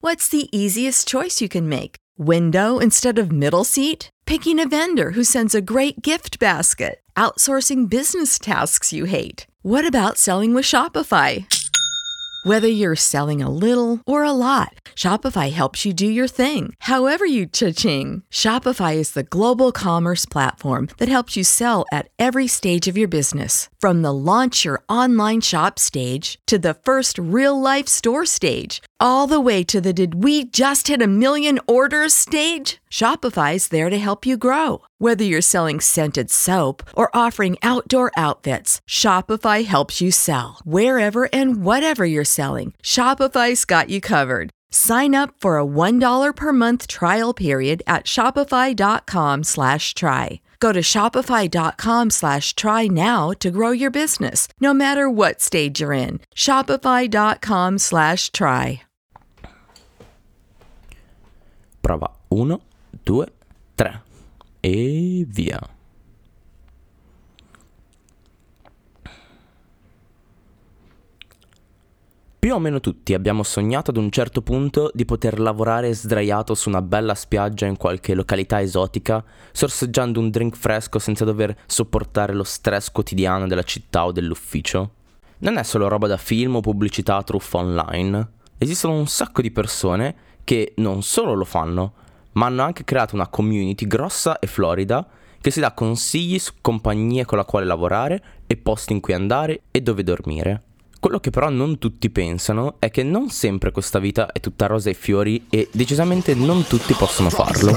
What's the easiest choice you can make? Window instead of middle seat? Picking a vendor who sends a great gift basket? Outsourcing business tasks you hate? What about selling with Shopify? Whether you're selling a little or a lot, Shopify helps you do your thing, however you cha-ching. Shopify is the global commerce platform that helps you sell at every stage of your business. From the launch your online shop stage to the first real-life store stage, all the way to the did we just hit a million orders stage? Shopify's there to help you grow. Whether you're selling scented soap or offering outdoor outfits, Shopify helps you sell. Wherever and whatever you're selling, Shopify's got you covered. Sign up for a $1 per month trial period at shopify.com/try. Go to shopify.com/try now to grow your business, no matter what stage you're in. Shopify.com/try. Prova 1, 2, 3 e via. Più o meno tutti abbiamo sognato ad un certo punto di poter lavorare sdraiato su una bella spiaggia in qualche località esotica, sorseggiando un drink fresco senza dover sopportare lo stress quotidiano della città o dell'ufficio. Non è solo roba da film o pubblicità truffa online. Esistono un sacco di persone che non solo lo fanno, ma hanno anche creato una community grossa e florida che si dà consigli su compagnie con la quale lavorare e posti in cui andare e dove dormire. Quello che però non tutti pensano è che non sempre questa vita è tutta rose e fiori e decisamente non tutti possono farlo.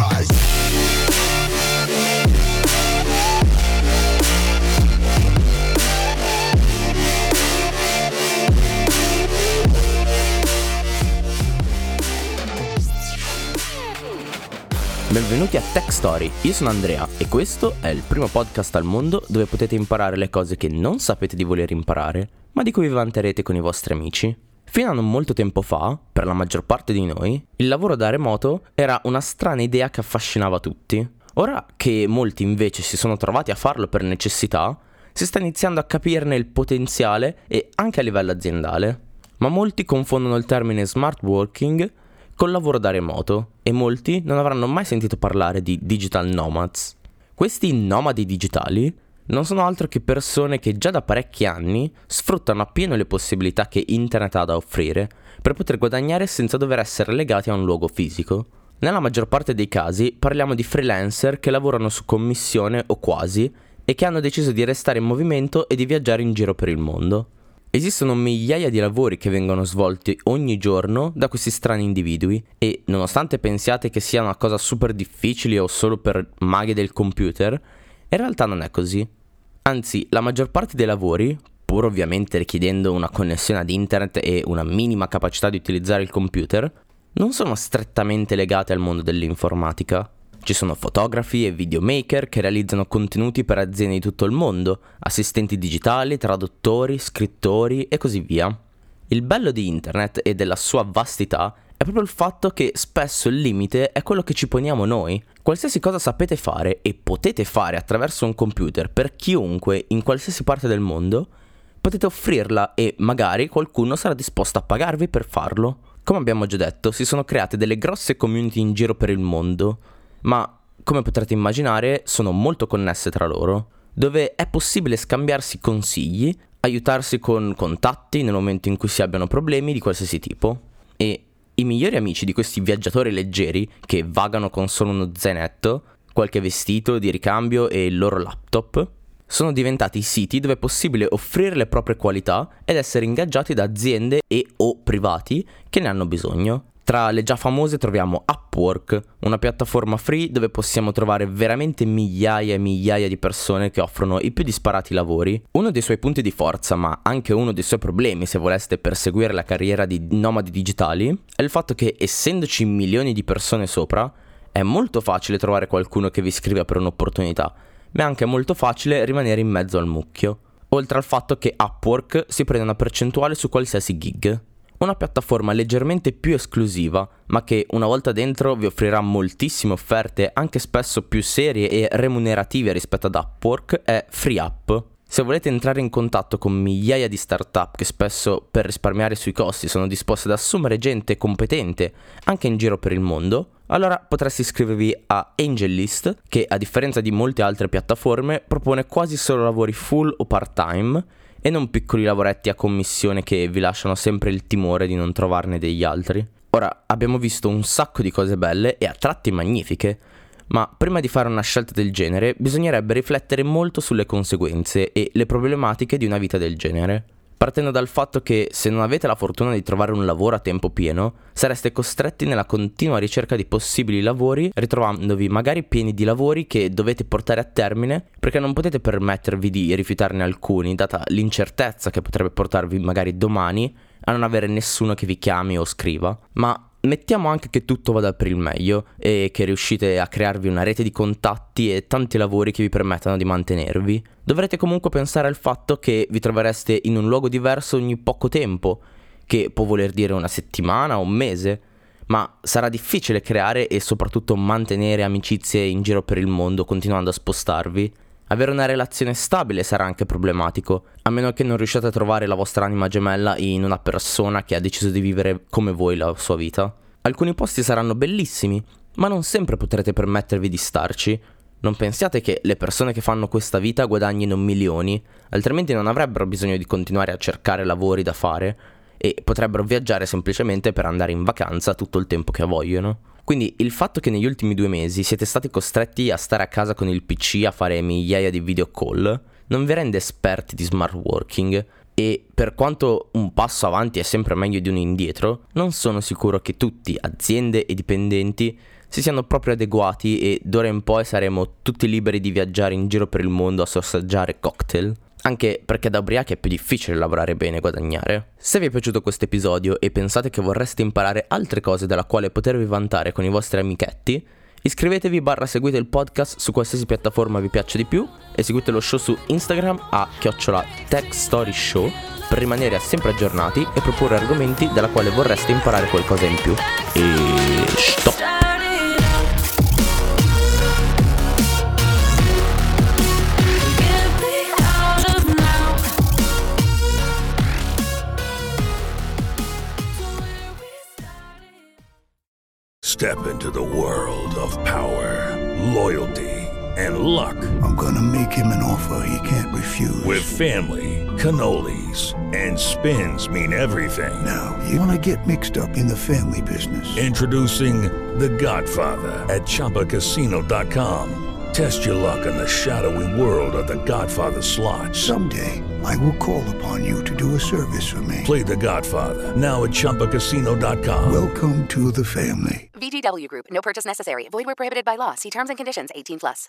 Benvenuti a Tech Story, io sono Andrea e questo è il primo podcast al mondo dove potete imparare le cose che non sapete di voler imparare, ma di cui vi vanterete con i vostri amici. Fino a non molto tempo fa, per la maggior parte di noi, il lavoro da remoto era una strana idea che affascinava tutti. Ora che molti invece si sono trovati a farlo per necessità, si sta iniziando a capirne il potenziale e anche a livello aziendale. Ma molti confondono il termine smart working col lavoro da remoto e molti non avranno mai sentito parlare di digital nomads. Questi nomadi digitali non sono altro che persone che già da parecchi anni sfruttano appieno le possibilità che internet ha da offrire per poter guadagnare senza dover essere legati a un luogo fisico. Nella maggior parte dei casi parliamo di freelancer che lavorano su commissione o quasi e che hanno deciso di restare in movimento e di viaggiare in giro per il mondo. Esistono migliaia di lavori che vengono svolti ogni giorno da questi strani individui e, nonostante pensiate che sia una cosa super difficile o solo per maghi del computer, in realtà non è così. Anzi, la maggior parte dei lavori, pur ovviamente richiedendo una connessione ad internet e una minima capacità di utilizzare il computer, non sono strettamente legate al mondo dell'informatica. Ci sono fotografi e videomaker che realizzano contenuti per aziende di tutto il mondo, assistenti digitali, traduttori, scrittori e così via. Il bello di internet e della sua vastità è proprio il fatto che spesso il limite è quello che ci poniamo noi. Qualsiasi cosa sapete fare e potete fare attraverso un computer per chiunque in qualsiasi parte del mondo, potete offrirla e magari qualcuno sarà disposto a pagarvi per farlo. Come abbiamo già detto, si sono create delle grosse community in giro per il mondo, ma come potrete immaginare sono molto connesse tra loro, dove è possibile scambiarsi consigli, aiutarsi con contatti nel momento in cui si abbiano problemi di qualsiasi tipo. E i migliori amici di questi viaggiatori leggeri che vagano con solo uno zainetto, qualche vestito di ricambio e il loro laptop, sono diventati i siti dove è possibile offrire le proprie qualità ed essere ingaggiati da aziende e o privati che ne hanno bisogno. Tra le già famose troviamo Upwork, una piattaforma free dove possiamo trovare veramente migliaia e migliaia di persone che offrono i più disparati lavori. Uno dei suoi punti di forza, ma anche uno dei suoi problemi se voleste perseguire la carriera di nomadi digitali, è il fatto che essendoci milioni di persone sopra, è molto facile trovare qualcuno che vi scriva per un'opportunità, ma è anche molto facile rimanere in mezzo al mucchio. Oltre al fatto che Upwork si prende una percentuale su qualsiasi gig. Una piattaforma leggermente più esclusiva, ma che una volta dentro vi offrirà moltissime offerte, anche spesso più serie e remunerative rispetto ad Upwork, è FreeUp. Se volete entrare in contatto con migliaia di startup che spesso per risparmiare sui costi sono disposte ad assumere gente competente anche in giro per il mondo, allora potreste iscrivervi a AngelList, che a differenza di molte altre piattaforme propone quasi solo lavori full o part-time e non piccoli lavoretti a commissione che vi lasciano sempre il timore di non trovarne degli altri. Ora, abbiamo visto un sacco di cose belle e a tratti magnifiche, ma prima di fare una scelta del genere bisognerebbe riflettere molto sulle conseguenze e le problematiche di una vita del genere, partendo dal fatto che se non avete la fortuna di trovare un lavoro a tempo pieno, sareste costretti nella continua ricerca di possibili lavori, ritrovandovi magari pieni di lavori che dovete portare a termine perché non potete permettervi di rifiutarne alcuni, data l'incertezza che potrebbe portarvi magari domani a non avere nessuno che vi chiami o scriva. Ma mettiamo anche che tutto vada per il meglio e che riuscite a crearvi una rete di contatti e tanti lavori che vi permettano di mantenervi. Dovrete comunque pensare al fatto che vi trovereste in un luogo diverso ogni poco tempo, che può voler dire una settimana o un mese, ma sarà difficile creare e soprattutto mantenere amicizie in giro per il mondo continuando a spostarvi. Avere una relazione stabile sarà anche problematico, a meno che non riusciate a trovare la vostra anima gemella in una persona che ha deciso di vivere come voi la sua vita. Alcuni posti saranno bellissimi, ma non sempre potrete permettervi di starci. Non pensiate che le persone che fanno questa vita guadagnino milioni, altrimenti non avrebbero bisogno di continuare a cercare lavori da fare e potrebbero viaggiare semplicemente per andare in vacanza tutto il tempo che vogliono. Quindi il fatto che negli ultimi 2 mesi siete stati costretti a stare a casa con il PC a fare migliaia di video call non vi rende esperti di smart working, e per quanto un passo avanti è sempre meglio di uno indietro, non sono sicuro che tutti, aziende e dipendenti, si siano proprio adeguati e d'ora in poi saremo tutti liberi di viaggiare in giro per il mondo a sorseggiare cocktail. Anche perché da ubriachi è più difficile lavorare bene e guadagnare. Se vi è piaciuto questo episodio e pensate che vorreste imparare altre cose dalla quale potervi vantare con i vostri amichetti, iscrivetevi / seguite il podcast su qualsiasi piattaforma vi piaccia di più e seguite lo show su Instagram a @TechStoryShow per rimanere sempre aggiornati e proporre argomenti dalla quale vorreste imparare qualcosa in più. E stop! Step into the world of power, loyalty, and luck. I'm gonna make him an offer he can't refuse. With family, cannolis, and spins mean everything. Now, you wanna get mixed up in the family business. Introducing The Godfather at ChumbaCasino.com. Test your luck in the shadowy world of The Godfather slot. Someday, I will call upon you to do a service for me. Play The Godfather, now at ChumbaCasino.com. Welcome to the family. VGW Group. No purchase necessary. Void where prohibited by law. See terms and conditions. 18+.